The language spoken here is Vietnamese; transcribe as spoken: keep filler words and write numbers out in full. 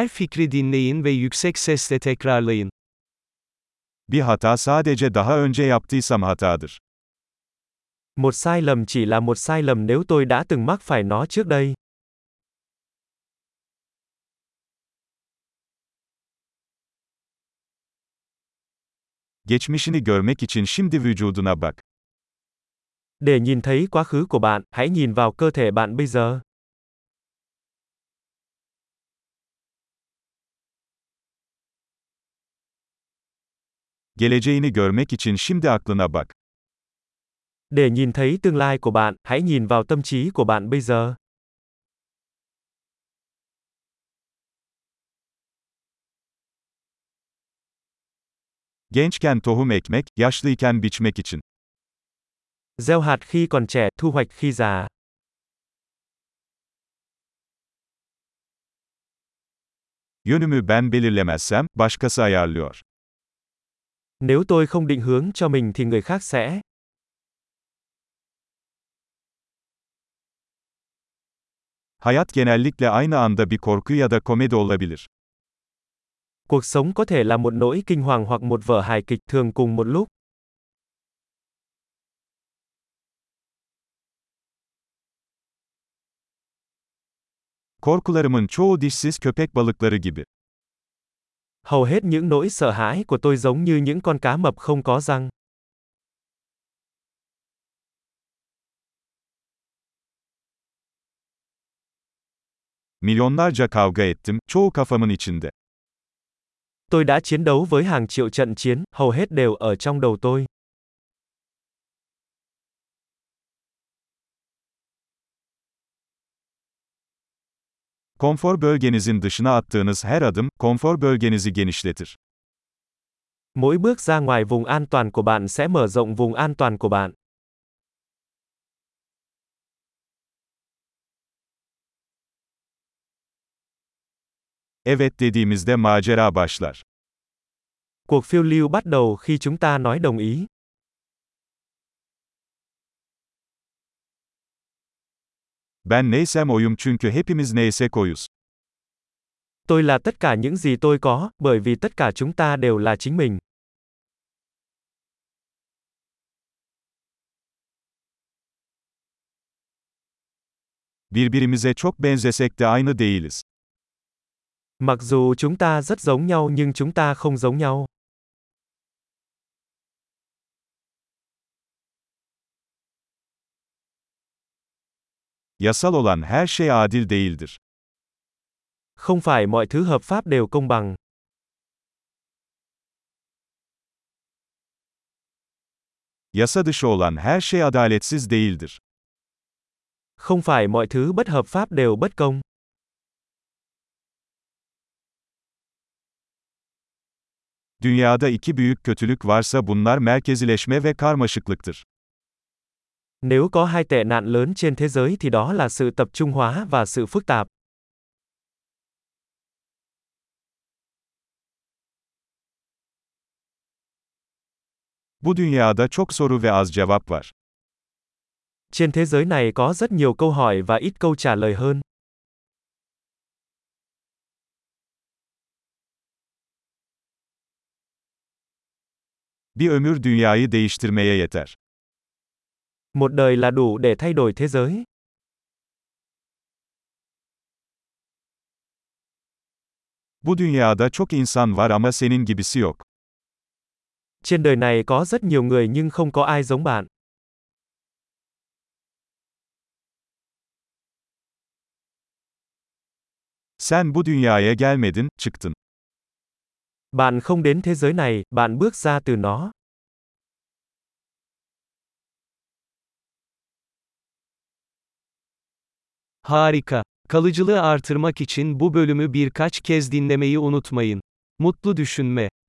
Her fikri dinleyin ve yüksek sesle tekrarlayın. Bir hata sadece daha önce yaptıysam hatadır. Một sai lầm chỉ là một sai lầm nếu tôi đã từng mắc phải nó trước đây. Geçmişini görmek için şimdi vücuduna bak. Để nhìn thấy quá khứ của bạn, hãy nhìn vào cơ thể bạn bây giờ. Geleceğini görmek için şimdi aklına bak. Để nhìn thấy tương lai của bạn, hãy nhìn vào tâm trí của bạn bây giờ. Gençken tohum ekmek, yaşlıyken biçmek için. Gieo hạt khi còn trẻ, thu hoạch khi già. Yönümü ben belirlemezsem, başkası ayarlıyor. Nếu tôi không định hướng cho mình thì người khác sẽ. Hayat genellikle aynı anda bir korku ya da komedi olabilir. Cuộc sống có thể là một nỗi kinh hoàng hoặc một vở hài kịch, thường cùng một lúc. Korkularımın çoğu dişsiz köpek balıkları gibi. Hầu hết những nỗi sợ hãi của tôi giống như những con cá mập không có răng. Milyonlarca kavga ettim, çoğu kafamın içinde. Tôi đã chiến đấu với hàng triệu trận chiến, hầu hết đều ở trong đầu tôi. Konfor bölgenizin dışına attığınız her adım, konfor bölgenizi genişletir. Mỗi bước ra ngoài vùng an toàn của bạn sẽ mở rộng vùng an toàn của bạn. Evet dediğimizde macera başlar. Cuộc phiêu lưu bắt đầu khi chúng ta nói đồng ý. Ben neysem oyum çünkü hepimiz neysek oyuz. Tôi là tất cả những gì tôi có, bởi vì tất cả chúng ta đều là chính mình. Birbirimize çok benzesek de aynı değiliz. Mặc dù chúng ta rất giống nhau nhưng chúng ta không giống nhau. Yasal olan her şey adil değildir. Không phải mọi thứ hợp pháp đều công bằng. Yasa dışı olan her şey adaletsiz değildir. Không phải mọi thứ bất hợp pháp đều bất công. Dünyada iki büyük kötülük varsa bunlar merkezileşme ve karmaşıklıktır. Nếu có hai tệ nạn lớn trên thế giới thì đó là sự tập trung hóa và sự phức tạp. Bu dünyada çok soru ve az cevap var. Trên thế giới này có rất nhiều câu hỏi và ít câu trả lời hơn. Bir ömür dünyayı değiştirmeye yeter. Một đời là đủ để thay đổi thế giới. Bu dünyada çok insan var ama senin gibisi yok. Trên đời này có rất nhiều người nhưng không có ai giống bạn. Sen bu dünyaya gelmedin, çıktın. Bạn không đến thế giới này, bạn bước ra từ nó. Harika. Kalıcılığı artırmak için bu bölümü birkaç kez dinlemeyi unutmayın. Mutlu düşünme.